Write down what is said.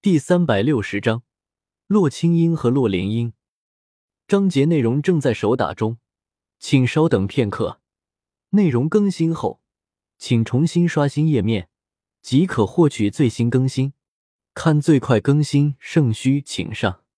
第360章洛清音和洛莲英。章节内容正在手打中，请稍等片刻。内容更新后，请重新刷新页面，即可获取最新更新。看最快更新，圣虚请上。